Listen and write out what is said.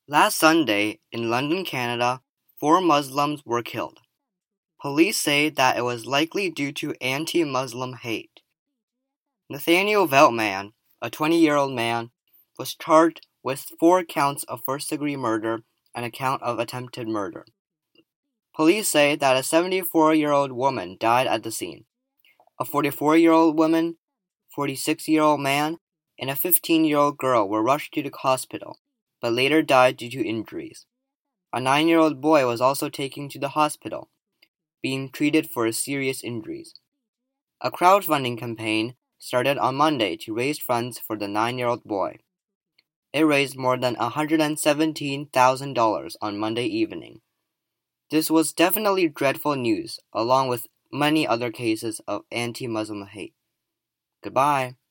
Last Sunday, in London, Canada, 4 Muslims were killed. Police say that it was likely due to anti-Muslim hate. Nathaniel Veltman, a 20-year-old man, was charged with 4 counts of first-degree murder and a count of attempted murder. Police say that a 74-year-old woman died at the scene. A 44-year-old woman, 46-year-old man, and a 15-year-old girl were rushed to the hospital, but later died due to injuries. A 9-year-old boy was also taken to the hospital, being treated for serious injuries. A crowdfunding campaign started on Monday to raise funds for the 9-year-old boy. It raised more than $117,000 on Monday evening. This was definitely dreadful news, along with many other cases of anti-Muslim hate. Goodbye.